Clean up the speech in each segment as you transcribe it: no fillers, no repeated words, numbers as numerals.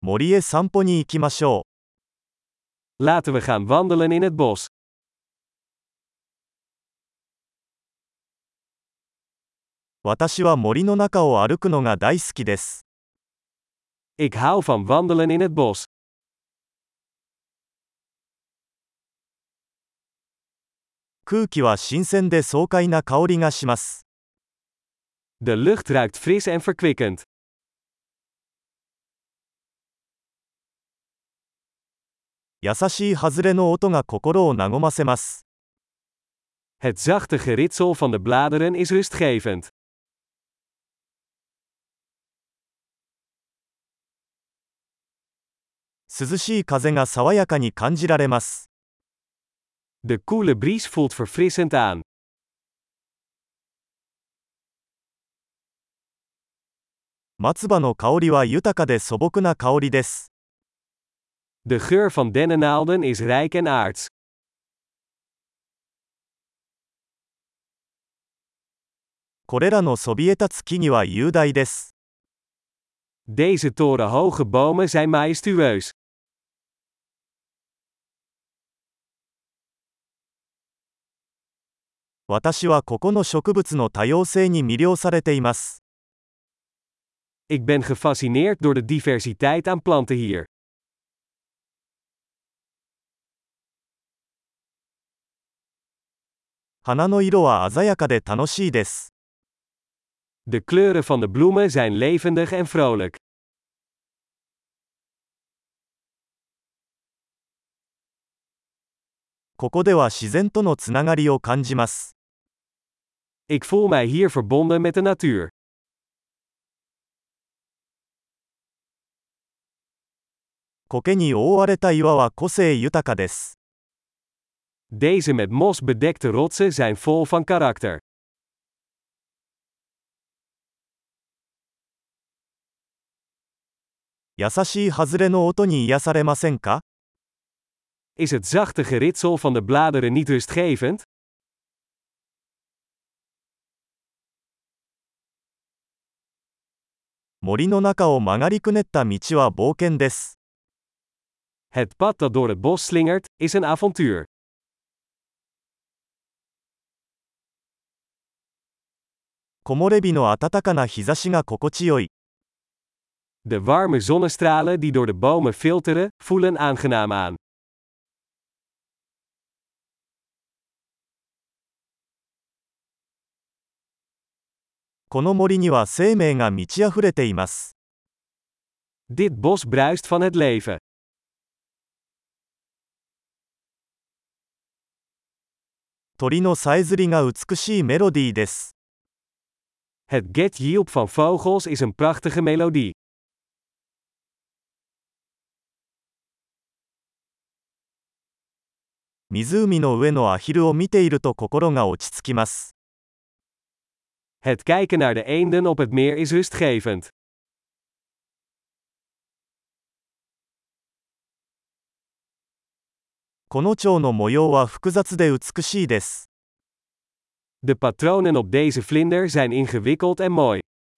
森へ散歩に行きましょ Laten we gaan wandelen in het bos. う。私は森の中を歩くのが大好きです。 Ik hou van wandelen in het bos. 空気は新鮮で爽快な香りがします。 De lucht ruikt fris en verkwikkend. 優しい外れの音が心を和ませます。 Het zachte geritsel van de bladeren is rustgevend. 涼しい風が爽やかに感じられます。 De koele bries voelt verfrissend aan. 松葉の香りは豊かで素朴な香りです。 De geur van dennennaalden is rijk en aards. これらのそびえ立つ木々は雄大です。 Deze torenhoge bomen zijn majestueus. 私はここの植物の多様性に魅了されています。 Ik ben gefascineerd door de diversiteit aan planten hier. 花の色は鮮やかで楽しいです。 De kleuren van de bloemen zijn levendig en vrolijk. ここでは自然とのつながりを感じます。 Ik voel mij hier verbonden met de natuur. 苔に覆われた岩は個性豊かです。 Deze met mos bedekte rotsen zijn vol van karakter. 優しい外れの音に癒されませんか？ Is het zachte geritsel van de bladeren niet rustgevend? 森の中を曲がりくねった道は冒険です。 Het pad dat door het bos slingert, is een avontuur. 木漏れ日の暖かな日差しが心地よい。 De warme zonnestralen die door de bomen filteren, voelen aangenaam aan. この森には生命が満ち溢れています。 Dit bos bruist van het leven. 鳥のさえずりが美しいメロディーです。 Het getjilp van vogels is een prachtige melodie. 湖の上のアヒルを見ていると心が落ち着きます。 Het kijken naar de eenden op het meer is rustgevend. この蝶の模様は複雑で美しいです。 De patronen op deze vlinder zijn ingewikkeld en mooi.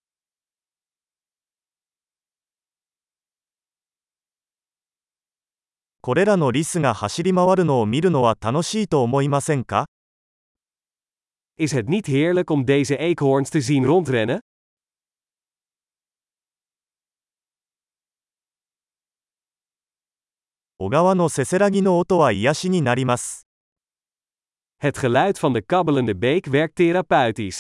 これらのリスが走り回るのを見るのは楽しいと思いませんか？ Is het niet heerlijk om deze eekhoorns te zien rondrennen? 小川のせせらぎの音は癒しになります。 Het geluid van de kabbelende beek werkt therapeutisch.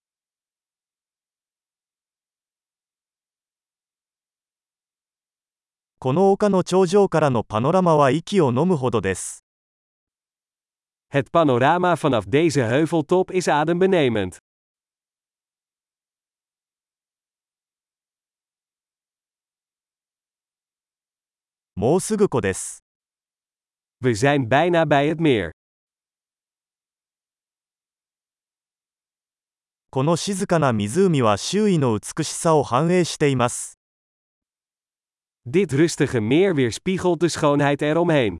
この丘の頂上からのパノラマは息を飲むほどです。 Het panorama vanaf deze heuveltop is adembenemend. もうすぐ湖です。 We zijn bijna bij het meer. この静かな湖は周囲の美しさを反映しています。 Dit rustige meer weerspiegelt de schoonheid eromheen.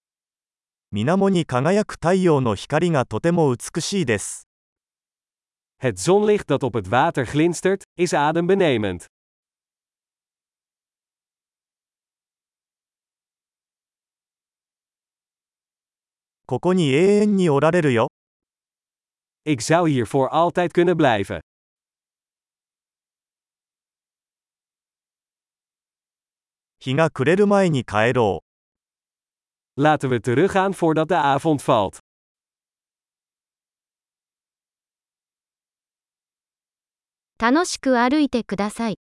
水面に輝く太陽の光がとても美しいです。 Het zonlicht dat op het water glinstert, is adembenemend. ここに永遠におられるよ。 Ik zou hier voor altijd kunnen blijven. 日が暮れる前に帰ろう。 Laten we teruggaan voordat de avond valt. 楽しく歩いてください。